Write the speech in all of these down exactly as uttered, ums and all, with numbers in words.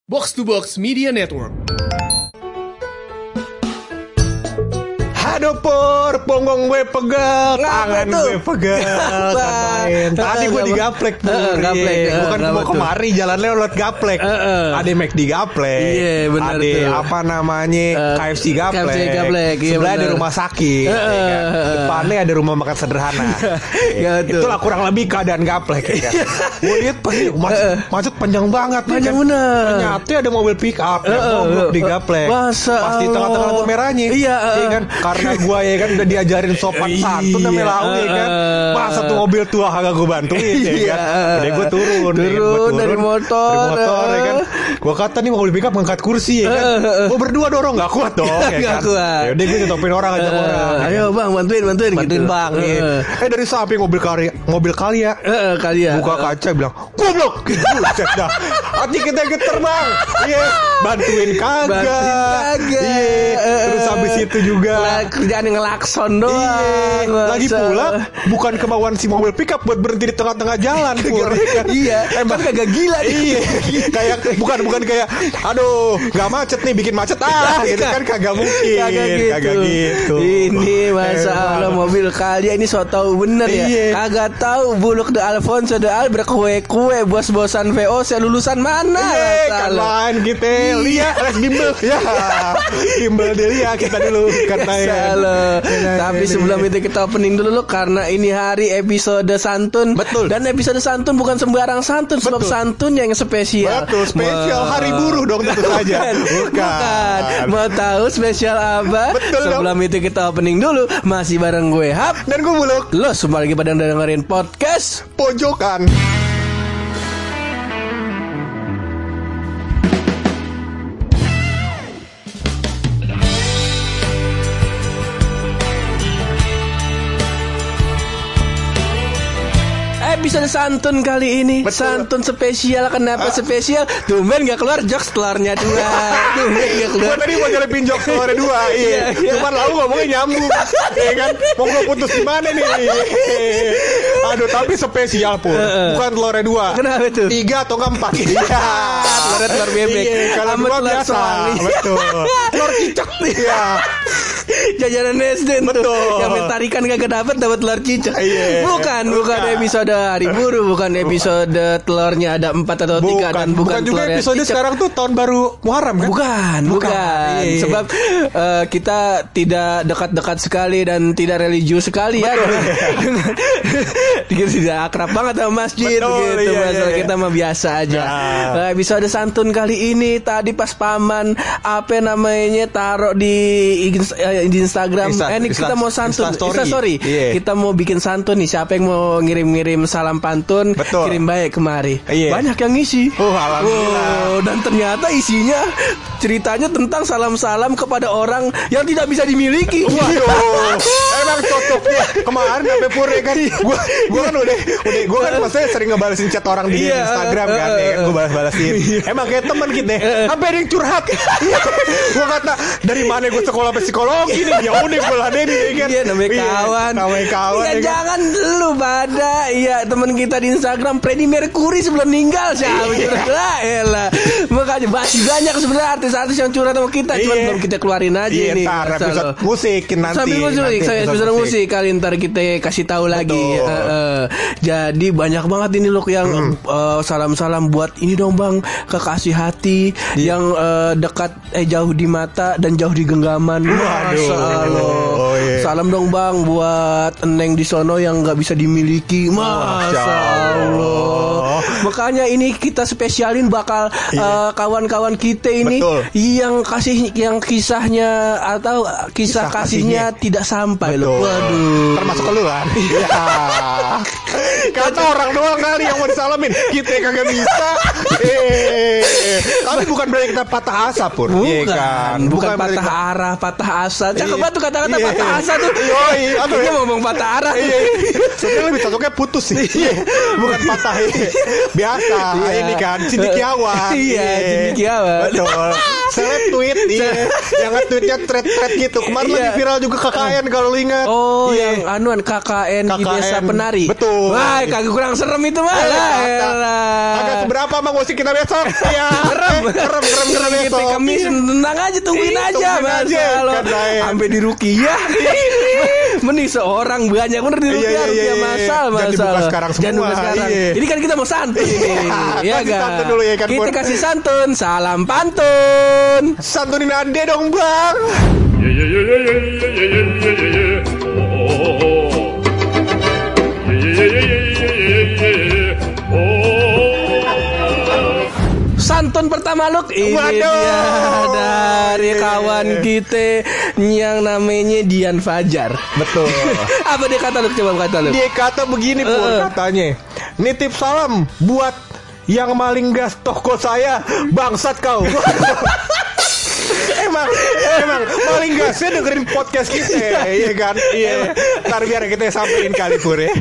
Box to Box Media Network. Aduh Pur, punggung gue pegel, tangan gue pegel, main. Tadi gue digaplek Pur, uh, gaplek, uh, bukan mau kemari jalan lewat gaplek. Uh, uh. Ada McD gaplek, iya, benar ada tuh. apa namanya Uh, K F C gaplek, K F C gaplek, iya, sebelah ada benar. rumah sakit, Uh, ya kan? uh, Depannya ada rumah makan sederhana. Ya, betul. Itulah kurang lebih keadaan gaplek. Ya kan? Gue lihat pasti macet, macet panjang banget, nih, Panjang kan? bener. Ternyata ada mobil pick up yang Uh, uh, mogok di uh, gaplek, masa pas di Allah. tengah-tengah lampu merahnya, Iya, uh, ya kan? Karena gue ya kan udah diajarin sopan santun namanya lau ya kan. Masa tuh mobil tua kagak gue bantuin ya kan. Udah gue turun, Turun, ya, gua turun dari motor, dari motor ya kan. Gue kata nih mobil pickup ngangkat kursi ya kan. Gue berdua dorong nggak kuat dong ya Nggak kan. kuat. Ya udah gue nyetopin orang ajak Uh, orang. ya ayo kan. bang, bantuin, bantuin, Bantuin gitu. bang. Uh, ya. Eh dari samping mobil karya, mobil Kalia. uh, uh, kali ya. Buka kaca bilang goblok. Buset dah. Hati kita geter bang. Iya. Bantuin kagak. Bantuin kagak. Iya. Terus habis itu juga Lah, kerjaan yang ngelakson doang. Iya, Masa. lagi pula bukan kemauan si mobil pickup buat berhenti di tengah-tengah jalan, Pur. Iya, emang kan kagak gila nih. Iya, kayak bukan bukan kayak, aduh, nggak macet nih, bikin macet ah, gitu kan kagak mungkin, Kagak gitu. kagak gitu. Ini masalah Emang. mobil Kalia ini so tau bener ya. Iya. Kagak tahu Buluk de Alfonso de Al berkue-kue bos-bosan V O C lulusan mana? Iya, kan Masalah. lain kita lihat les bimbel ya, bimbel dia kita dulu kata ya. Salah. Tapi sebelum itu kita opening dulu loh, karena ini hari episode santun. Betul. Dan episode santun bukan sembarang santun, sebab Betul. santun yang spesial. Betul, spesial Wah. hari buruh dong tentu saja. Bukan. Bukan. Mau tahu spesial apa? Betul dong. Sebelum itu kita opening dulu. Masih bareng gue Hap. Dan gue Buluk Lo semua lagi pada dengerin podcast pojokan. episode santun kali ini. Betul. Santun spesial. Kenapa spesial? Tumben gak keluar jokes telurnya dua. Tumben gak keluar. Gue tadi mau nyelipin jok keluar dua, iya. Iya, iya. Cuman lalu ngomongnya nyambung, ya kan? Mau gue putus di mana nih? Aduh, tapi spesial Pur. Bukan telurnya dua. Kenapa tuh? Tiga atau nggak empat? Iya. Telurnya telur bebek. Iya, kalau Sama dua telur biasa. soang. Betul. Telur cicak nih. Iya. Jajanan S D tuh. Betul. Yang main tarikan kagak dapet dapat telur cicak. Iya. Bukan, bukan Bukan. episode hari buruh, bukan episode telurnya ada empat atau tiga, dan bukan, bukan juga telurnya episode cicak. sekarang tuh tahun baru Muharram kan? Bukan, bukan. Bukan. Iya. Sebab eh, kita tidak dekat-dekat sekali dan tidak religius sekali ya. Kita tidak akrab banget sama masjid. Betul, gitu. iya, Masalah iya. kita mah biasa aja. Nah. Nah, episode santun kali ini tadi pas paman apa namanya taruh di, ins- eh, di Instagram. Insta- eh, ini Insta- kita mau santun. Instastory. Instastory. Iya. Kita mau bikin santun nih. Siapa yang mau ngirim-ngirim salam pantun? Betul. Kirim baik kemari. Iya. Banyak yang ngisi. Oh, alhamdulillah. Wow, dan ternyata isinya ceritanya tentang salam-salam kepada orang yang tidak bisa dimiliki. Waduh, emang cocoknya kemarin sampai Pur ya kan. Gua gua kan udah udah gua kan maksudnya sering ngebalesin chat orang di Iya, Instagram kan, uh, ya kan gua balas-balasin. Emang kayak teman kita, sampai ada yang curhat. Gua kata dari mana gua sekolah psikologi nih? Ya udah gua ladenin ya kan. Iya, namanya Iya, kawan. Namanya kawan. Iya, ya kan? jangan lu pada. Iya, teman kita di Instagram Freddie Mercury sebelum meninggal siapa curhat. Lah, elah. Makanya masih banyak sebenarnya artis-artis yang curhat sama kita, cuma Iya. belum kita keluarin aja Iya, nih. ntar Masalah. episode musik nanti. Sambil musik, nanti saya episode musik kali ntar kita kasih tahu lagi. Betul. Eh, eh. Jadi banyak banget ini loh yang eh, salam-salam buat ini dong bang, kekasih hati yang eh, dekat eh jauh di mata dan jauh di genggaman. Waduh. Masya Allah. Oh, iya. Salam dong bang buat Eneng di sono yang nggak bisa dimiliki. Masya Masya Allah. Allah. Makanya ini kita spesialin bakal eh, kawan-kawan kita ini Betul. yang kasih yang kisahnya atau kisah, Kisah kasihnya, kasihnya. tidak sampai loh. Betul. Waduh. Termasuk ke lu kan? Iya. Kata orang doang kali yang mau disalamin. Kita kagak bisa. Eh, tapi bukan berarti kita patah asa Pur. Bukan, Iya kan? bukan, berarti patah kita- arah, patah asa. Cakep Iya. banget tuh kata-kata Iya. patah asa tuh. Yoi, aduh. Dia ngomong patah arah. Iya, sebenarnya lebih cocoknya putus sih. Iya, bukan patah. Iya. Biasa. Iya. Ini kan cendekiawan. Iya, cendekiawan. Betul. seleb tweet iya. Yang nge-tweetnya thread-thread gitu. Kemarin Iya. lagi viral juga K K N kalau lu ingat. Oh, Iya. yang anuan K K N di K K N. Desa Penari. Betul. Wah, kagak kurang serem itu mah. Eh, Lah, kata. elah. Agak seberapa Bang musik kita besok. Iya. Kerem, Eh, kerem, kerem, kerem Kita besok. Kamis tenang aja tungguin Ih, aja tungguin Mas. aja, Kalau kan, Daen. sampai di Rukiah. Mending seorang banyak bener di Iya, Rukiah, iya, Rukiah iya. masal, Jangan masal. dibuka sekarang Jangan semua, dibuka sekarang. iya. Ini kan kita mau santun ini. Ya Kasih kan? santun dulu ya kan, Kita Pur. kasih santun, salam pantun. Santunin Ade dong Bang. Yeah, yeah, yeah, yeah, yeah, yeah, yeah, yeah, yeah, yeah. Oh, oh, oh. Yeah, yeah, yeah, yeah, yeah, yeah, yeah, yeah. Oh. Santun pertama Luk ini Waduh. dia dari Iya. kawan kita yang namanya Dian Fajar. Betul. Apa dia kata Luk? Coba kata Luk. Dia kata begini Pur Eh, eh. katanya. Nitip salam buat yang maling gas toko saya, bangsat kau. Emang Emang maling gasnya dengerin podcast kita. Iya kan. Iya. Ntar biar kita sampein kali Pur ya.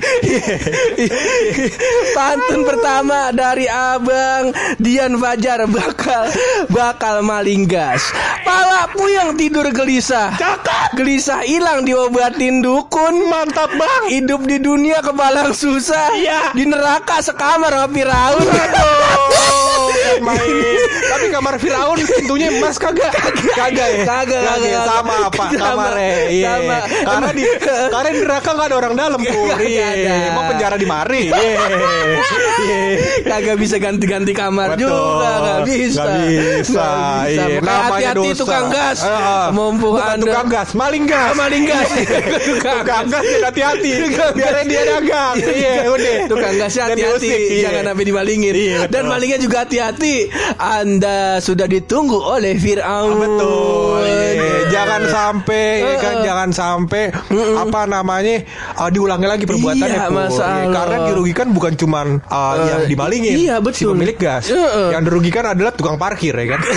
Pantun pertama dari Abang Dian Fajar bakal bakal maling gas. Pala puyeng tidur gelisah. Cakep. Gelisah hilang diobatin dukun. Mantap Bang. Hidup di dunia kebalang susah. Iya. Di neraka sekamar sama Firaun. Aduh, kan main. Tapi kamar Firaun pintunya emas kagak? Kagak ya? Kagak, ya? kagak. Sama apa? Sama. Kamarnya. Iya. Sama. Karena di karena di neraka enggak ada orang dalam, Pur. Kagak Iya. ada. Mau penjara di mari. Iya. Iya. Kagak bisa ganti-ganti kamar Betul. juga. Gak bisa. Nggak bisa. Nggak bisa. Iya. Makanya Namanya hati-hati dosa. tukang gas. Eh, eh. Mumpung Bukan Anda tukang gas, maling gas. maling gas. Tukang gas ya hati-hati. Biarin dia dagang. Iya, udah. Tukang gasnya Dan hati-hati, diusik, iya. jangan sampai dimalingin. Iya, betul. Dan malingnya juga hati-hati. Anda sudah ditunggu oleh Firaun. Betul. Iya. Jangan sampai ya kan Uh-uh. jangan sampai apa namanya uh, diulangi lagi perbuatannya Iya, Pur. masalah. Iya, karena dirugikan bukan cuman uh, yang dimalingin. iya, Si betul. pemilik gas. Uh-uh. Yang dirugikan adalah tukang parkir ya kan.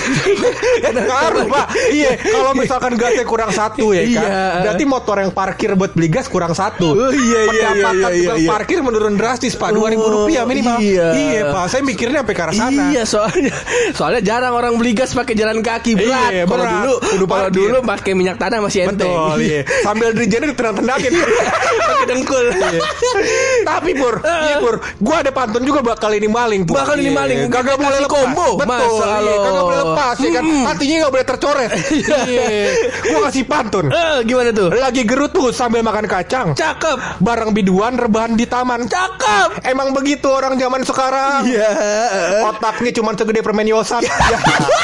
Ngaruh Pak. Iya, kalau misalkan gasnya kurang satu ya kan. Iya. Berarti motor yang parkir buat beli gas kurang satu. Oh, iya, iya, Pendapatan iya, iya, tukang iya. parkir menurun drastis Pak. dua ribu Oh, rupiah minimal. iya. Iya Pak. Saya mikirnya sampai ke arah sana. Iya, soalnya soalnya jarang orang beli gas pakai jalan kaki berat. Iya, Kalau berat. dulu Kudu kalau parkir. dulu pakai minyak tanah masih enteng. Betul, iya. Sambil dirijennya ditendang-tendakin. Pakai dengkul. Iya. Tapi Pur, iya Pur, gua ada pantun juga bakal ini maling Pur. Bakal ini Iya. maling. Kagak Kasih boleh lepas. combo. Betul, Masa iya. lo. Kagak boleh lepas ya kan. Hmm. Hatinya gak boleh tercoret. Iya. Gua kasih pantun. Eh, gimana tuh? Lagi gerutu sambil makan kacang. Cakep. Bareng biduan rebahan di taman. Cakep. Emang begitu orang zaman sekarang. Iya. Otaknya cuma segede permen yosan. Ya.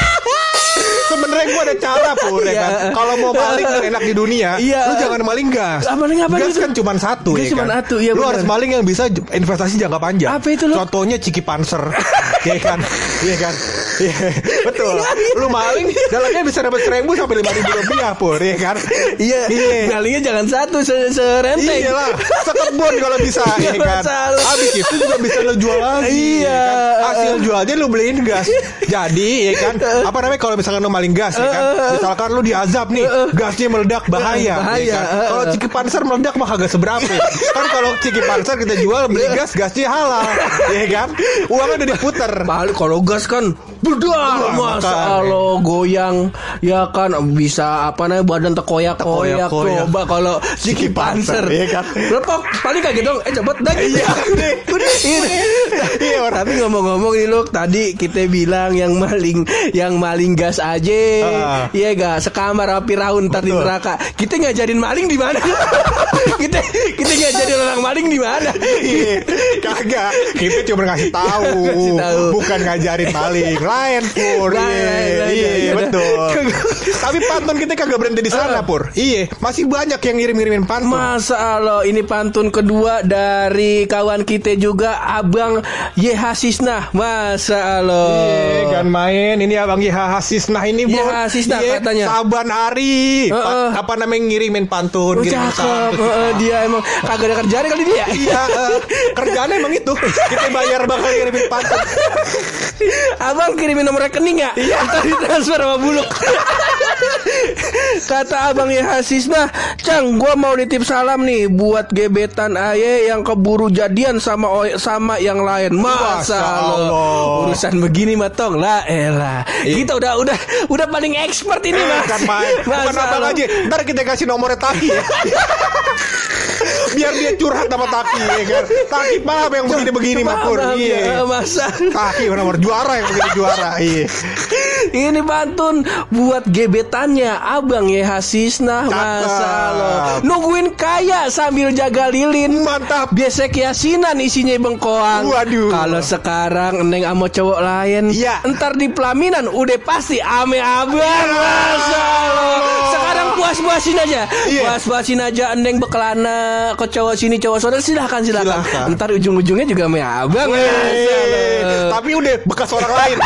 Sebenarnya gue ada cara Pur ya kan. Iya. Kalau mau maling yang enak di dunia, Iya. lu jangan maling gas. Ah, maling apa gas itu? kan cuma satu Gas ya cuma kan. satu, iya lu benar. harus maling yang bisa j- investasi jangka panjang. Apa itu, lu? Contohnya Ciki Panser, ya kan, iya kan, iya betul. Lu maling dalamnya bisa dapat seribu sampai lima ribu rupiah Pur ya kan. Iya. Iya. Malingnya jangan satu se- serenteng. Iya lah, sekebun kalau bisa ya Nggak kan. masalah. Habis itu juga bisa lo jual lagi. Iya. ya kan? Hasil jualnya lo beliin gas. Jadi ya kan, apa namanya kalau misalkan lo maling gas ya kan. Misalkan lo diazab nih, gasnya meledak bahaya. Bahaya. Ya kan? Kalau Ciki Panser meledak mah kagak seberapa. Kan kalau Ciki Panser kita jual beli gas, gasnya halal. Ya kan? Uangnya udah diputer. Paling kalau gas kan bedah Wah, masa makanya. lo goyang ya kan bisa apa namanya badan terkoyak-koyak Terkoyak-koyak. coba kalau Ciki Panser Iya kan? Lepok paling kaget dong eh cepet dah gitu. Iya, udah, udah. Iya, orang. Tapi ngomong-ngomong nih lo tadi kita bilang yang maling yang maling gas aja Ah. iya gak sekamar sama Firaun ntar di Betul. neraka kita ngajarin maling di mana kita kita ngajarin orang maling di mana Iya, kagak. Kita cuma ngasih tahu, Ngasih tahu. bukan ngajarin maling. Lain Pur. Lain, Iya, lain, lain, iya, lain. betul. Tapi pantun kita kagak berhenti di sana, Pur. Iya, masih banyak yang ngirim-ngirimin pantun. Masa Allah ini pantun kedua dari kawan kita juga Abang Y H Sisnah. Masa Allah. Iya, kan main. Ini Abang Y H Sisnah ini, Y Bor. H Sisnah Iya, katanya. Saban hari. Pa- Heeh. apa namanya ngirimin pantun, Oh, ngirimin cakep. pantun. Heeh, dia emang kagak ada kerjaan kali dia. Iya, eh, kerjaannya emang itu. Kita bayar bakal ngirimin pantun. Abang kirimin nomor rekening ya? Iya. Ntar ditransfer sama Buluk. Kata Abang Yehasis mah, Cang, gua mau nitip salam nih buat gebetan aye yang keburu jadian sama o- sama yang lain. Masa Masya lo Allah. urusan begini mah tong lah elah. Kita udah udah udah paling expert ini Eh, Mas. kan main. Bukan Masa abang lo- aja. Ntar kita kasih nomornya Taki ya. Biar dia curhat sama Taki ya kan. Taki paham yang begini-begini mah Pur. Paham, Iya. ya, masa. Taki nomor juara yang begini juara. Iya. Ini pantun buat gebetannya Abang Yehasisna. Masa lo nungguin kaya sambil jaga lilin. Mantap. Biasek yasinan isinya bengkoang. Waduh. Kalau sekarang neng sama cowok lain, Iya. entar di pelaminan udah pasti ame abang. Masa lo sekarang puas-puasin aja. Iya. Puas-puasin aja neng bekelana ke cowok sini cowok sana, silahkan silahkan. Silahkan. Entar ujung-ujungnya juga ame abang. Masa lo. Eh, Tapi udah bekas orang lain.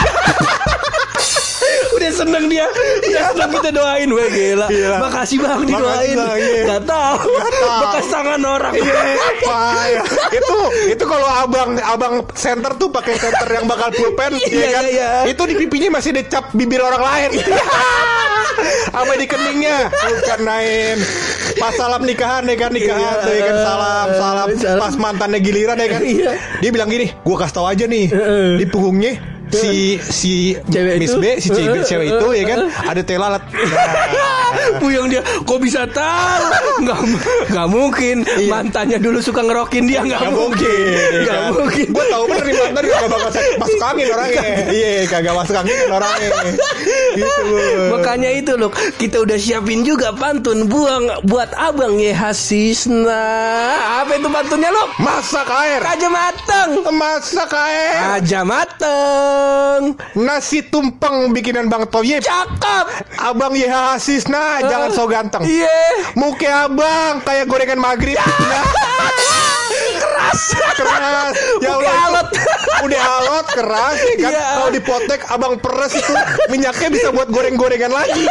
Udah seneng dia. Udah seneng kita doain. Weh gila. Gila. Makasih bang didoain. Bang, iya. Gak tau. tahu. Bekas tangan orang. Wah, ya. itu itu kalau abang abang center tuh pakai center yang bakal pulpen Iya, ya kan iya. itu di pipinya masih dicap bibir orang lain apa di keningnya bukan nain pas salam nikahan ya kan nikahan Iya. ya kan salam salam Salam. pas mantannya giliran ya kan Iya. dia bilang gini gua kasih tahu aja nih di punggungnya si si Cewek Miss itu? B si cewek, cewek itu ya kan ada teh lalat. Puyeng dia. Kok bisa tahu? Nggak, nggak mungkin. Mantannya dulu suka ngerokin dia. Nggak Gak mungkin. mungkin, Nggak kan? mungkin. Gue tau bener nih mantan gak bakal masuk angin orangnya. Iya, kagak masuk angin kan orangnya. Gitu. Makanya itu loh, kita udah siapin juga pantun buang buat Abang Yehasisna. Apa itu pantunnya lo? Masak air. Aja mateng. Masak air. Aja mateng. Nasi tumpeng bikinan Bang Toyib. Cakep. Abang Yehasisna jangan so ganteng. Iya. Muka abang kayak gorengan maghrib. Keras. Keras. Ya Udah Allah, alot. Udah alot, keras ya kan. Iya. Kalau dipotek abang peres itu minyaknya bisa buat goreng-gorengan lagi.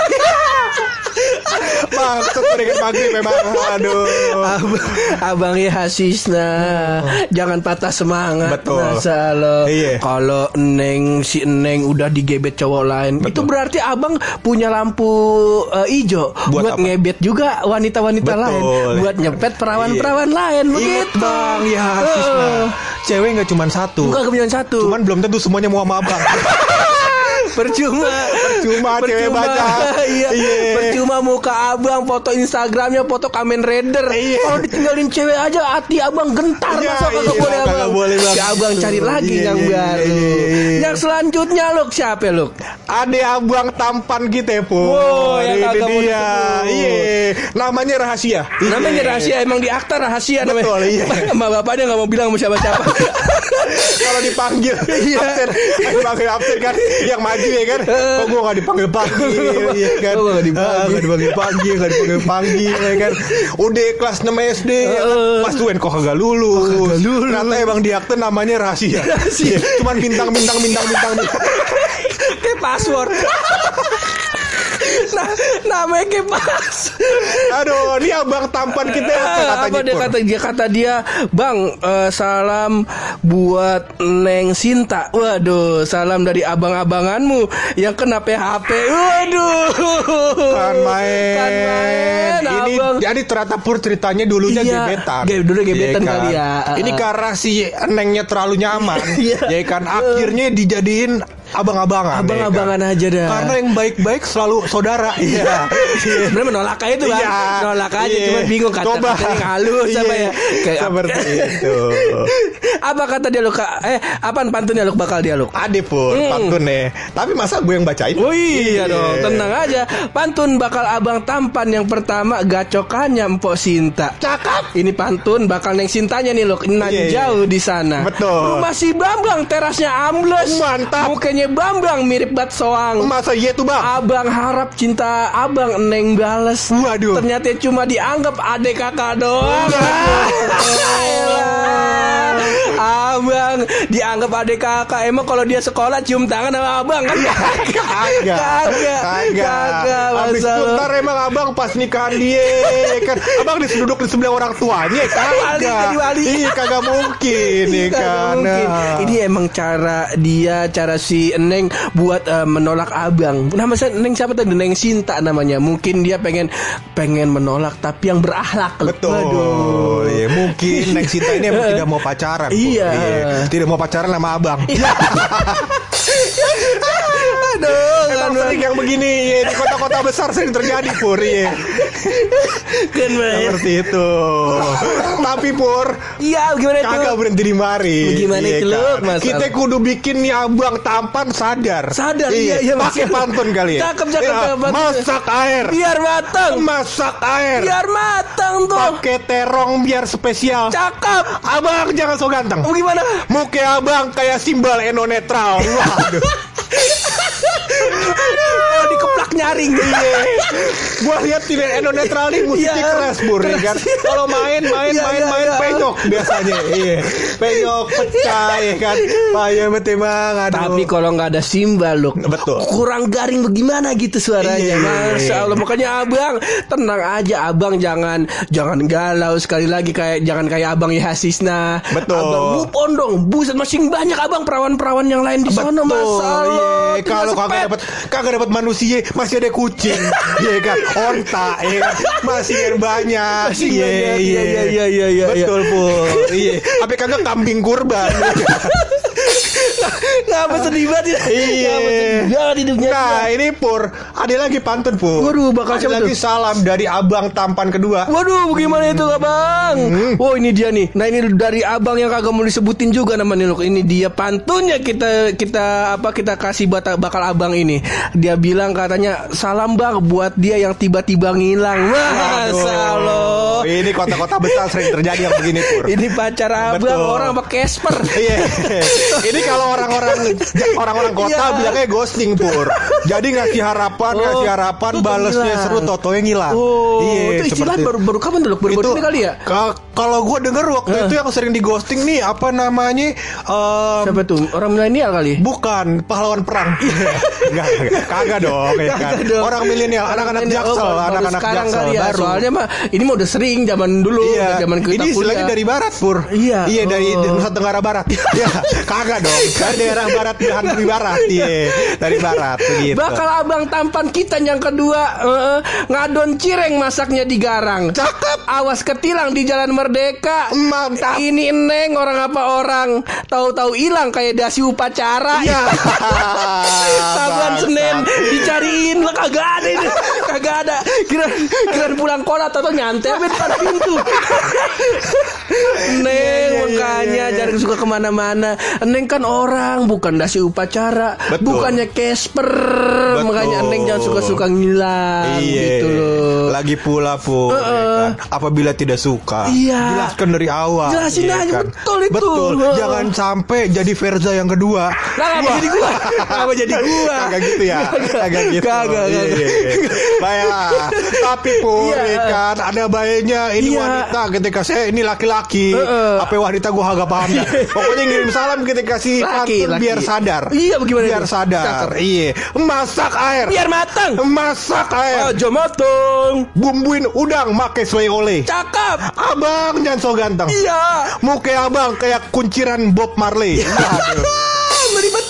Maksud gorengan maghrib memang. Aduh. Abang, Abang Yehasisna, jangan patah semangat. Betul. Masa lo Iya. kalau Neng si Neng udah digebet cowok lain, Betul. itu berarti Abang punya lampu uh, hijau Buat buat, apa? ngebet juga wanita-wanita Betul. lain, buat nyepet perawan-perawan lain. Ingat Begitu. Bang Yehasisna. Uh, Cewek nggak cuma satu. Bukan kemudian satu. Cuman belum tentu semuanya mau sama abang. Percuma. Percuma cewek banyak. Iya. Iya. Percuma muka abang, foto Instagramnya, foto Kamen Rider. Iya. Kalau ditinggalin cewek aja hati abang gentar. Iya, Masa kagak iya, boleh kagak abang? boleh, Bang. Si abang cari lagi Iya, yang iya, baru. iya, iya. Yang selanjutnya Luk, siapa Luk? Ada abang tampan kita Pur. Wow, yang Ini kagak mau dia. disebut. Iya. Namanya rahasia. Namanya rahasia, emang di akta rahasia namanya. Betul, iya. Sama bapaknya nggak mau bilang sama siapa-siapa. Kalau dipanggil Iya. absen, dipanggil absen kan yang maju ya kan. Kok gua gak dipanggil panggil ya kan. Kok nggak dipanggil? Ah, nggak dipanggil panggil, gak dipanggil panggil ya kan. Udah kelas enam S D ya kan. Pas tuan kok kagak lulus. Kagak lulus. Ternyata emang di akte namanya rahasia. Rahasia. Iya, cuman bintang bintang bintang bintang. bintang. Kayak password. Nah, namanya kayak pas. Aduh, ini abang tampan kita apa katanya? Apa dia Pur? kata dia kata dia, Bang, eh, salam buat Neng Sinta. Waduh, salam dari abang-abanganmu yang kena P H P. Waduh. Kan main. Kan main, Ini abang. jadi ternyata Pur ceritanya dulunya Iya, gebetan. ge- dulu gebetan Iya kan? kali ya. Ini karena si Nengnya terlalu nyaman. Iya. Ya kan akhirnya dijadiin abang-abangan. Abang-abangan ya kan? aja dah. Karena yang baik-baik selalu saudara. Iya. Sebenarnya menolak aja itu Bang. Iya. Nolak aja, Iya. cuma bingung Coba. kata-kata yang halus apa Iya. ya. Kayak Seperti itu. apa kata dia Luk? Eh, apaan pantunnya Luk bakal dia Luk? Ade Pur, Hmm. pantun nih. Tapi masa gue yang bacain? Oh iya dong, tenang aja. Pantun bakal abang tampan yang pertama, gacokannya Mpok Sinta. Cakep. Ini pantun bakal Neng Sintanya nih loh, nan Iya, iya. jauh di sana. Betul. Rumah si Bambang terasnya ambles. Mantap. Mukanya Bambang mirip bat soang. Masa iya tuh bang? Abang harap cinta abang Neng bales. Waduh. Ternyata cuma dianggap adek kakak doang. Waduh. Elah. abang, dianggap adik kakak. Emang kalau dia sekolah cium tangan sama abang kan? Kagak. Kagak. Kagak. Habis Masa itu lo. ntar emang abang pas nikahan dia kan abang duduk di sebelah orang tuanya. Wali, jadi Kagak. wali. Iya kagak mungkin nih Kagak kan. mungkin. Ini emang cara dia, cara si Neng buat uh, menolak abang. Nama saya Neng siapa tadi? Neng Sinta namanya. Mungkin dia pengen pengen menolak tapi yang berakhlak. Betul. Waduh. Iya, mungkin Neng Sinta ini emang tidak mau pacaran. Bu. Iya. Tidak mau pacaran sama abang. Aduh, Emang kan sering yang begini ya, di kota-kota besar sering terjadi Pur ya. kan Bang. Seperti itu. Tapi Pur, Iya, gimana itu? kagak berhenti di mari. Gimana Iya itu, kan? Luk, Mas? Kita kudu bikin nih abang tampan sadar. Sadar, iya, iya, Mas. Pakai pantun kali ya. Cakep, cakep, Ya, cakep, pantun. masak air. Biar matang. Masak air. Biar matang tuh. Pakai terong biar spesial. Cakep. Abang jangan so ganteng. Oh, gimana? Muka abang kayak simbol eno netral. Waduh. Oh, dikeplak nyaring. Iya. Gua lihat tidak eno netral nih musiknya Iya. keras Bur ya kan. Kalau main main Iya, main iya, main iya. penyok biasanya. Iya. Penyok pecah ya kan. Payah betul bang. Aduh. Tapi kalau nggak ada simbal loh, Betul. kurang garing bagaimana gitu suaranya. Iya, iya, Masya iya. Allah, makanya abang tenang aja, abang jangan jangan galau sekali lagi kayak jangan kayak abang Yahasisna. Betul. Abang move on dong, buset masih banyak abang perawan-perawan yang lain di sana. Betul. Masya Allah. Iya. tinggal Kalau kagak sepet. dapat kagak dapat manusia masih ada kucing. Iya kan. Onta ya kan. Masih yang banyak. Masih Iya, banyak. iya. Iya, iya, iya, iya, iya. Betul Pur. Iya. Apa kagak kambing kurban. Ngapa sedih banget ya? Iya. Ngapa sedih banget hidupnya. Nah ini Pur, ada lagi pantun Pur. Waduh, bakal ada siapa lagi tuh? salam dari abang tampan kedua. Waduh, bagaimana itu abang? Hmm. Oh ini dia nih. Nah ini dari abang yang kagak mau disebutin juga namanya loh. Ini dia pantunnya kita kita apa kita kasih bata, bakal abang ini. Dia bilang katanya salam bang buat dia yang tiba-tiba ngilang. Masya Allah. Ini kota-kota besar sering terjadi yang begini Pur. Ini pacar abang Betul. orang apa Casper. Iya. Ini kalau orang-orang orang-orang kota Iya. bilangnya ghosting Pur. Jadi ngasih harapan, Oh, ngasih harapan, tuh balesnya hilang. seru, totonya ngilang. Oh, Iya, itu istilah seperti- baru baru kapan tuh? Baru baru ini kali ya? ka- Kalau gue denger waktu itu yang sering di ghosting nih apa namanya? em, Siapa tuh? Orang milenial kali? Bukan pahlawan perang. Enggak, enggak. Kagak dong, ya kan. Kagak dong. Orang milenial, anak-anak Milenial. Jaksel, Oh, baru anak-anak sekarang Jaksel kali ya. baru. Soalnya mah ini mah udah sering zaman dulu, Iya, udah zaman kita ini istilahnya kuliah. dari barat Pur. Iya, Iya dari oh. Nusa Tenggara Barat. Iya, kagak dong. Dari daerah barat belahan bumi barat. Iya, dari barat begitu. Bakal abang tampan kita yang kedua eh, ngadon cireng masaknya di garang. Cakep. Awas ketilang di Jalan Merdeka. Mantap. Ini neng orang apa orang? Tahu-tahu hilang kayak dasi upacara. Iya. Saban Bangsa. Senin dicariin lah kagak ada ini. Kagak ada. Kira kira pulang kolat atau nyantai di depan pintu. Neng iya, makanya iya, iya. jarang suka kemana-mana. Neng kan orang bukan dasi upacara. Betul. Bukannya Casper. Betul. Makanya Neng jangan suka-suka ngilang Iya. gitu loh. Lagi pula Pur, ya kan? Apabila tidak suka, Iya. jelaskan dari awal. Jelasin ya aja, kan? betul itu. Betul. Heeh. Jangan sampai jadi Verza yang kedua. Nah, ngapa jadi gua? Ngapa jadi gua? Kagak gitu ya. Kagak gitu. Kagak, Iya, kagak. iya, iya. Baiklah. Tapi Pur, Iya. ya kan ada baiknya ini Iya. wanita ketika saya ini laki-laki. Heeh. Apa wanita gua agak paham dah. Pokoknya ngirim salam ketika si Laki, pantun laki. biar sadar. Iya, bagaimana Biar itu? sadar. Cakep. Iya. Masak air. Biar matang. Masak air. Aja matang. Bumbuin udang make selai oleh. Cakep. Abang jangan so ganteng. Iya. Muka abang kayak kunciran Bob Marley. Aduh. Melibet.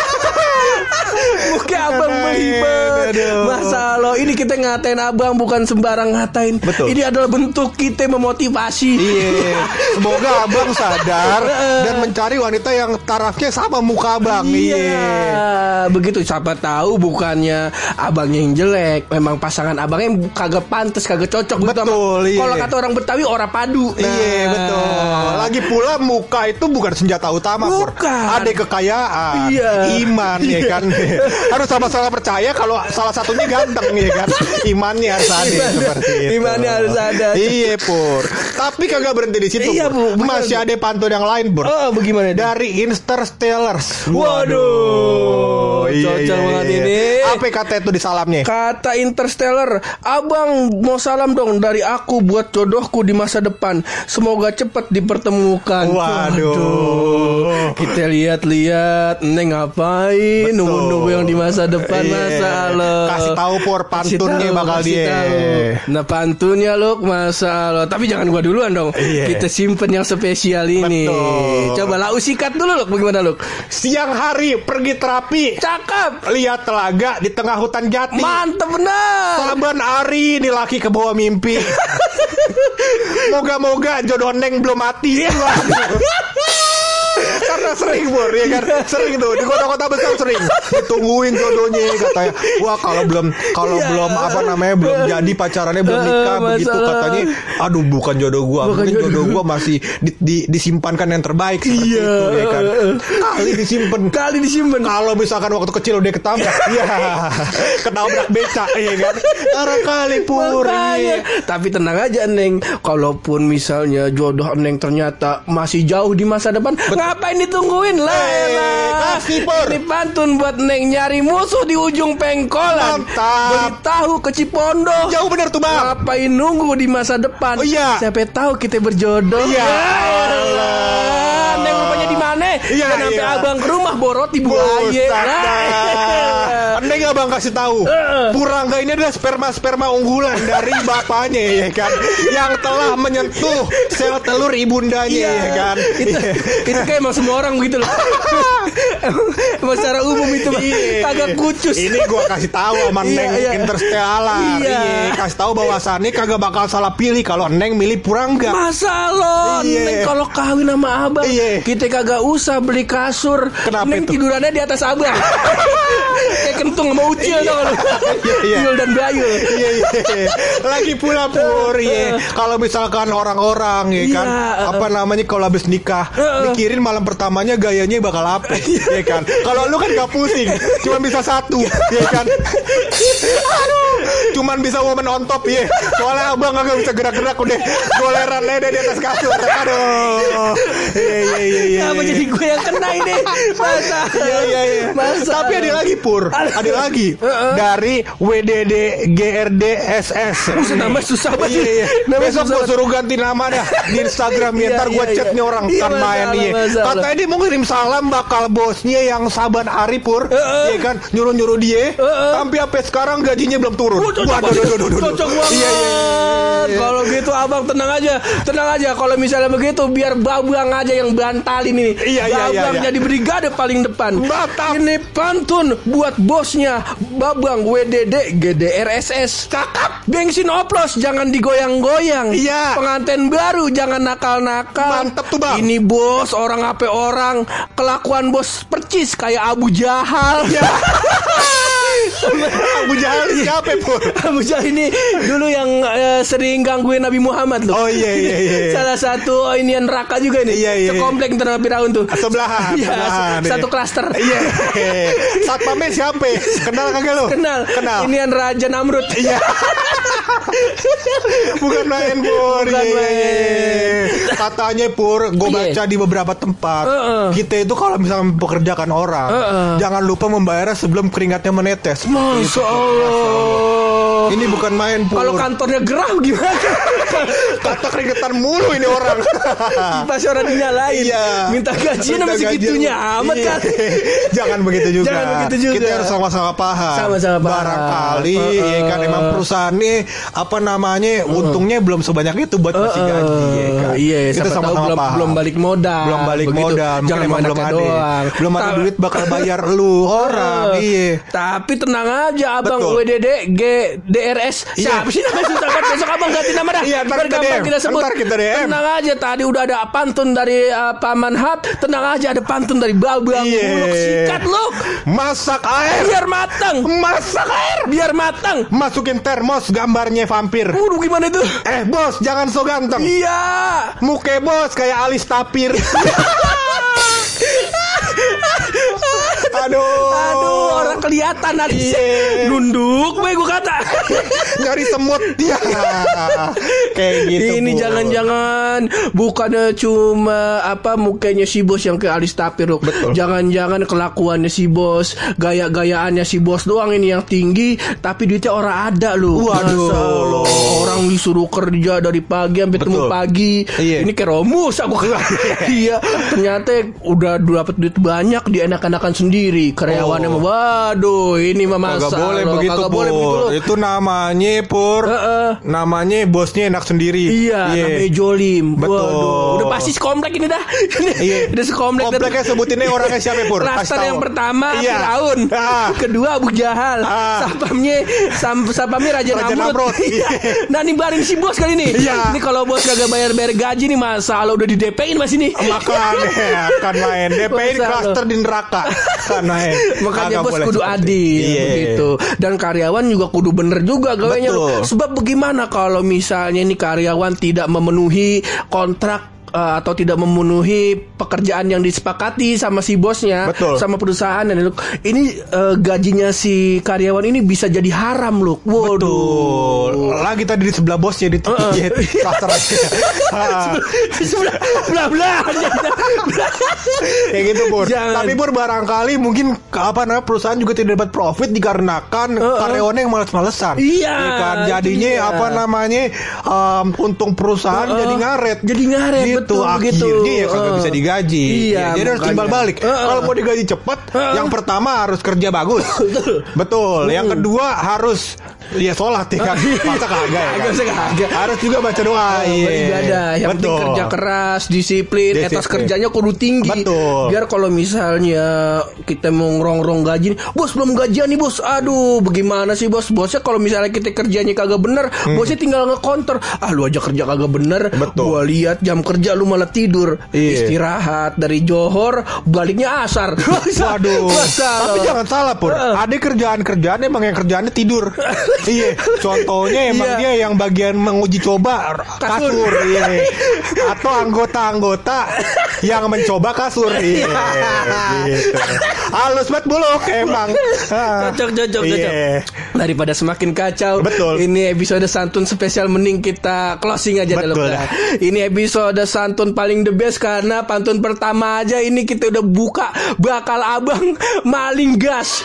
Muka abang Aduh, melibet. aduh. Masalah ini kita ngatain abang bukan sembarang ngatain. Betul. Ini adalah bentuk kita memotivasi. Iya. Semoga abang sadar dan mencari wanita yang tarafnya sama muka abang. Iya, begitu. Siapa tahu bukannya abangnya yang jelek, memang pasangan abangnya yang kagak pantas, kagak cocok. gitu sama- Betul, iya. Kalau kata orang Betawi, ora padu. Nah. Iya betul. Lagi pula muka itu bukan senjata utama Pur. Bukan. Ada kekayaan, Iya. iman ya kan. Harus sama-sama percaya kalau salah satunya ganteng ya kan. Imannya harus ada Iman- seperti itu. imannya harus ada. Iya Pur. Tapi kagak berhenti di situ. Iya, Pur. Bu. Masih ada pantun yang lain Pur. Oh, bagaimana itu? Dari Interstellars. Waduh, cocok banget ini. Apa kata itu di salamnya? Kata Interstellar, abang mau salam dong dari aku buat jodohku di masa depan. Semoga cepat dipertemukan. Waduh. Kita lihat-lihat, Neng ngapain? Nunggu-nunggu yang di masa depan, Iya. masa Allah. Kasih tahu Pur, Kasih pantunnya tahu, bakal kasih dia. tahu. Nah pantunnya Luk, masa Allah. Tapi jangan gua duluan dong. Iya. Kita simpen yang spesial ini. Betul. Coba lau sikat dulu Luk, bagaimana Luk? Siang hari pergi terapi, Cakep. lihat telaga di tengah hutan jati. Mantep benar. Saban hari ini laki ke bawah mimpi. Moga-moga jodoh Neng belum mati. Karena sering Bor, ya kan? Sering tuh di kota-kota besar sering ditungguin jodohnya katanya. Wah, kalau belum kalau Ya. belum apa namanya belum jadi pacarannya belum nikah Eh, begitu masalah. katanya. Aduh, bukan jodoh gua. Bukan Mungkin jodoh. jodoh gua masih di, di- disimpankan yang terbaik seperti Iya. itu ya kan. Kali disimpan. Kali disimpan. Kalau misalkan waktu kecil udah ketabrak, ya ketabrak beca, ya kan? Karena kali Pur. Makanya. iya. Tapi tenang aja Neng, kalaupun misalnya jodoh Neng ternyata masih jauh di masa depan, ngapain ditungguin lah? Eh, elah. kasih, Pur. Ini pantun buat Neng nyari musuh di ujung pengkolan. Mantap. Beli tahu ke Cipondo. Jauh bener tuh Bang. Ngapain nunggu di masa depan? Oh, iya. Siapa tahu kita berjodoh. Iya. Ya elah. Neng rupanya di mana? Iya, Dan sampai iya. abang ke rumah borot ibu Buset aye. dah. Neng nggak Bang kasih tahu. Purangga ini adalah sperma-sperma unggulan dari bapaknya ya kan, yang telah menyentuh sel telur ibundanya ya kan. Itu, itu kayak emang semua orang begitu loh. Emang secara umum itu mah Iya. kagak kucus. Ini gua kasih tahu sama Iya, Neng iya. Interstellar. Iya. Iya, kasih tahu bahwasannya kagak bakal salah pilih kalau Neng milih Purangga. Masa lo Iya. Neng kalau kawin sama abang, Iya. kita kagak usah beli kasur. Kenapa Neng itu? tidurannya di atas abang. Kayak kentung sama ucil tau gak lo. Iya, iya. Yul dan Bayul. Iya, iya. Lagi pula Pur, ya. Kalau misalkan orang-orang ya kan, Iya. apa namanya kalau habis nikah, Heeh. mikirin malam pertamanya gayanya bakal apa, ya kan? Kalau lu kan gak pusing, cuma bisa satu, ya kan? Aduh, cuman bisa woman on top ya. Soalnya abang gak bisa gerak-gerak udah goleran lede di atas kasur. Aduh. Iya, iya, iya, iya. Kenapa jadi gue yang kena ini? Masa? Iya, iya, iya. Masa? Tapi ada lagi Pur, ada lagi dari W D D G R D S S. Buset, nama susah banget. Iya, iya. Nama Besok susah gue suruh ganti nama dah di Instagram ya. Iya, Ntar gue iya, chat iya. nih orang Iya, kan main masalah, nih. masalah. Katanya dia mau ngirim salam bakal bosnya yang saban hari Pur, Heeh. ya kan nyuruh-nyuruh dia. Heeh. Sampai sampai sekarang gajinya belum turun. Oh, cocok Waduh, banget. waduh, waduh, waduh. Cocok banget. Iya, iya, iya, iya. Kalau gitu abang tenang aja, tenang aja. Kalau misalnya begitu biar babang aja yang bantalin ini. Iya, iya, iya, Babang iya. jadi brigade paling depan. Mantap. Ini pantun buat bosnya Babang W D D G D R S S. Cakep. Bensin oplos jangan digoyang-goyang. Iya. Pengantin baru jangan nakal-nakal. Mantep tuh, Bang. Ini bos orang apa orang, kelakuan bos percis kayak Abu Jahal. Iya. Abu Jahal siapa Pur? Abu Jahal ini dulu yang eh, sering gangguin Nabi Muhammad loh. Oh iya iya iya. Salah satu oh, ini yang neraka juga nih. Iya, iya. Sekomplek ntar sama Firaun tuh. Sebelahan, Iya, sebelahan, satu iya. klaster. Iya. Satpamnya siapa? Kenal kagak lu? Kenal. Kenal. Ini yang Raja Namrud. Iya. Bukan main Pur. Bukan Iya, main. iya, iya. Katanya Pur, gue Iya. baca di beberapa tempat. Heeh. Kita itu kalau misalnya mempekerjakan orang, Heeh. jangan lupa membayarnya sebelum keringatnya menetes. Masya Allah. Ini bukan main Pur. Kalau kantornya gerah gimana? kata keringetan mulu ini orang. Pas orang dinyalain. Iya. Minta gajian Minta sama segitunya gajian. amat Iya. kan. Jangan begitu juga. Jangan begitu juga. Kita harus sama-sama paham. Sama-sama paham. Barangkali Uh, uh. ya kan emang perusahaannya apa namanya untungnya belum sebanyak itu buat ngasih gaji ya kan. Iya, Kita siapa tahu sama-sama belum, paham. belum balik modal. Belum balik Begitu. modal, mungkin Jangan emang belum anaknya ada. doang. Belum ada Ta- duit bakal bayar lu orang. Eh, Iya. Tapi tenang aja abang Betul. W D D G D R S. Iya. Siapa sih namanya susah banget. Besok abang ganti nama dah. Iya, ntar Biar kita gampang D M. kita sebut. Ntar kita D M. Tenang aja tadi udah ada pantun dari uh, Paman Hat. Tenang aja ada pantun dari Babang. Iya. Muluk sikat lu. Masak air. Biar matang. Masak air. Biar matang. Masukin termos gambarnya vampir. Waduh gimana itu? Eh bos, jangan so ganteng. Iya. Muke bos kayak alis tapir. Aduh. Aduh, orang kelihatan alisnya. Iya. Nunduk gue gue kata. Nyari semut dia. Kayak gitu. Ini Pur. jangan-jangan bukannya cuma apa mukanya si bos yang kayak alis tapir loh. Betul. Jangan-jangan kelakuannya si bos, gaya-gayaannya si bos doang ini yang tinggi, tapi duitnya orang ada loh. Waduh. Masa lo orang disuruh kerja dari pagi sampai temu pagi. Iya. Ini kayak Romus aku. Iya, ternyata udah dapat duit banyak dia enak-enakan sendiri. Karyawannya Oh. mah waduh, ini mah masa Kagak boleh lo. begitu, Kagak Pur. boleh begitu loh. Itu namanya Pur. Heeh. Namanya bosnya enak sendiri. Iya, namanya Jolim. Betul. Waduh, udah pasti sekomplek ini dah. Iya. Udah sekomplek. Kompleknya sebutinnya orangnya siapa, Pur? Kasih Klaster tahu. yang pertama Iya. Firaun, Ah. kedua Abu Jahal, Ah. sapamnya sam, sapamnya Raja, Raja Namrud. Namrud. Iya. Nah, ini bareng si bos kali ini. Iya. Ini kalau bos kagak bayar-bayar gaji nih masalah udah di D P-in Mas ini. Makanya kan main D P-in Masa klaster lo. di neraka. Kan main. Makanya Kagak bos boleh kudu seperti- adil Iya. begitu. Dan karyawan juga kudu bener juga gawanya. Betul. Sebab bagaimana kalau misalnya ini karyawan tidak memenuhi kontrak uh, atau tidak memenuhi pekerjaan yang disepakati sama si bosnya, Betul. sama perusahaan dan itu, ini uh, gajinya si karyawan ini bisa jadi haram loh. Waduh. Betul. Lagi tadi di sebelah bosnya di Uh-uh. klaster aja. Ah. Sebelah belah belah. Kayak gitu, Pur. Jangan. Tapi Pur barangkali mungkin ke- apa namanya perusahaan juga tidak dapat profit dikarenakan Uh-uh. karyawannya yang malas-malesan. Iya, Ya kan itu jadinya dia. apa namanya um, untung perusahaan Uh-uh. jadi ngaret. Jadi ngaret, gitu. betul, begitu. Akhirnya ya kagak Uh. bisa digaji. Iya, Ya, jadi harus makanya. timbal balik. Uh-uh. Kalau mau digaji cepat, Uh-uh. yang pertama harus kerja bagus. Betul. Yang Hmm. kedua harus ya sholat ya kan. Masa kagak ya kan? Kagak, masa kagak. Harus juga baca doa. Iya. Beribadah. Yang penting Betul. kerja keras, disiplin, Disiplin. etos kerjanya kudu tinggi. Betul. Biar kalau misalnya kita mau ngerong-rong gaji, bos belum gajian nih bos. Aduh, bagaimana sih bos? Bosnya kalau misalnya kita kerjanya kagak bener, bosnya tinggal nge-counter. Ah, lu aja kerja kagak bener. Betul. Gua lihat jam kerja lu malah tidur. Iya. Istirahat dari johor, baliknya asar. Waduh. Tapi jangan salah, Pur. Uh. Ada kerjaan-kerjaan emang yang kerjaannya tidur. Iya. Contohnya emang Iya. dia yang bagian menguji coba kasur. Kasur. Iya. Atau anggota-anggota yang mencoba kasur. Iya. Gitu. Halus banget buluk emang. Ah. Cocok, cocok, Iya. cocok. Daripada semakin kacau. Betul. Ini episode santun spesial, mending kita closing aja dalam. Betul. Ini episode santun paling the best karena pantun pertama aja ini kita udah buka bakal abang maling gas.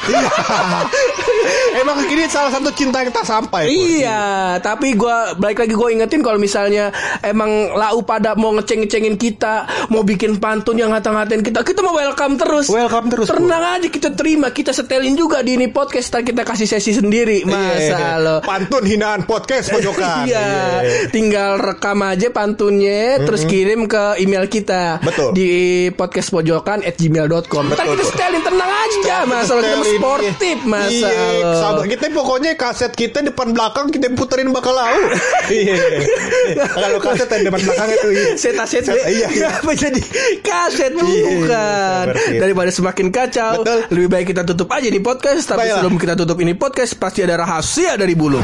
Emang ini salah satu cinta yang tak sampai. Pur. Iya, tapi gua balik lagi gue ingetin kalau misalnya emang lau pada mau ngeceng-ngecengin kita, mau bikin pantun yang ngata-ngatain kita, kita mau welcome terus. Welcome terus, Pur. Tenang aja, kita terima, kita setelin juga di ini podcast, ntar kita kasih sesi sendiri. Masa Iya. lo. Pantun hinaan podcast pojokan. Iya, tinggal rekam aja pantunnya, terus kirim ke email kita. Betul. Di podcastpojokan at gmail dot com. Ntar Betul, kita Pur. setelin, tenang aja, masalah kita Setelin, sportif, iya. masa Iya, lo. sabar. Kita pokoknya kaset kita depan belakang kita puterin bakal lau. Iya. Kalau kaset yang depan belakang itu iya. Set-set Set- iya, iya. Apa jadi kaset bukan. seperti itu. Daripada semakin kacau, Betul. lebih baik kita tutup aja di podcast. Tapi Baiklah. sebelum kita tutup ini podcast, pasti ada rahasia dari Buluk.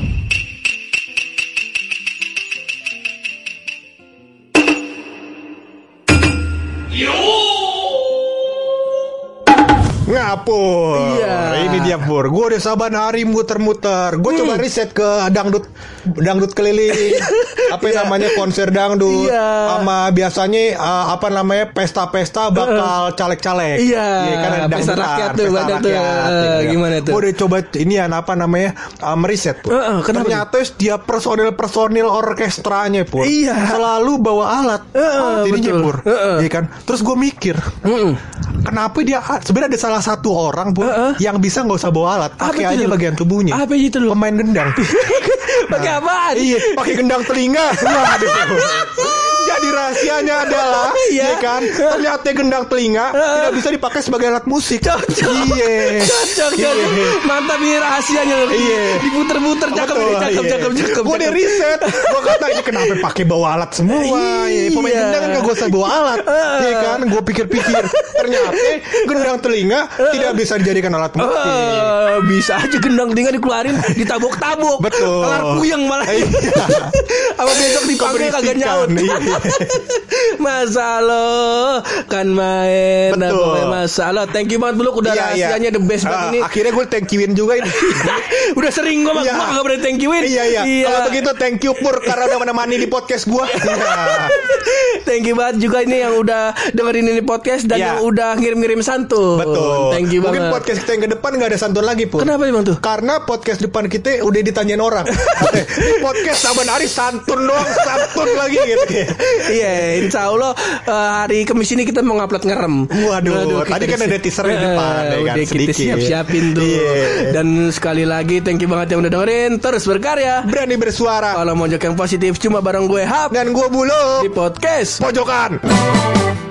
Ngapur. Iya. Ini dia Pur. Gue udah saban hari muter-muter. Gue coba riset ke dangdut dangdut keliling. Apa Iya. namanya konser dangdut. Iya. Sama biasanya uh, apa namanya pesta-pesta bakal caleg-caleg. Iya. kan ada Pesta dangdutan, rakyat tuh, pesta banyak tuh. rakyat, Eh, gitu. gimana tuh? Gue udah coba ini ya apa namanya uh, meriset Pur. Eh, eh, kenapa Ternyata dia personil-personil orkestranya Pur. Iya. Selalu bawa alat. Eh, eh, alat ininya betul. Pur. Eh, eh. Iya kan. Terus gue mikir. Mm-mm. Kenapa dia sebenarnya ada salah satu orang Pur Uh-uh. yang bisa nggak usah bawa alat, Apa pakai itu aja dulu? bagian tubuhnya. Apa itu dulu? Pemain gendang. Pakai apaan? Iya, pakai gendang telinga. Waduh. Jadi rahasianya adalah, Iya. ya kan? Ternyata gendang telinga tidak bisa dipakai sebagai alat musik. Cocok. Iya. Cocok, Iya. cocok. Mantap ini rahasianya. Iya. Diputer-puter, cakep, Betul, ini, cakep, iya. cakep, cakep. Gue udah riset. Gue kata ini kenapa pakai bawa alat semua. Iya. Pemain Iya. gendang kan gak usah bawa alat. Iya kan? Gue pikir-pikir. Ternyata gendang telinga tidak bisa dijadikan alat musik. Eh, bisa aja gendang telinga dikeluarin, ditabok-tabok. Betul. Kelar puyeng malah. Iya. Apa besok dipanggil kagak Keberisikan, nyaut. iya. Masa lo kan main. Nah, Betul. pokoknya masa lo. Thank you banget Buluk. Udah Iya, iya. rahasianya the best banget Ah, ini. Akhirnya gue thank you-in juga ini. Udah sering gue Iya. mak gak pernah thank you-in. Iya iya. Kalau begitu thank you Pur karena udah menemani di podcast gue. Iya. Thank you banget juga ini yang udah dengerin ini podcast dan Iya. yang udah ngirim-ngirim santun. Betul. Thank you Mungkin banget. podcast kita yang ke depan nggak ada santun lagi Pur. Kenapa emang tuh? Karena podcast depan kita udah ditanyain orang. Eh, Ini podcast saban hari santun doang, santun lagi gitu. Iya, insya Allah uh, hari Kamis ini kita mau ngupload ngerem. Waduh, tadi kan ada teaser di depan, ya kan, Udah kita sedikit. siap-siapin tuh. Iya. Dan sekali lagi thank you banget yang udah dengerin. Terus berkarya. Berani bersuara. Kalau mau yang positif cuma bareng gue Hap Dan gue Buluk di podcast Pojokan.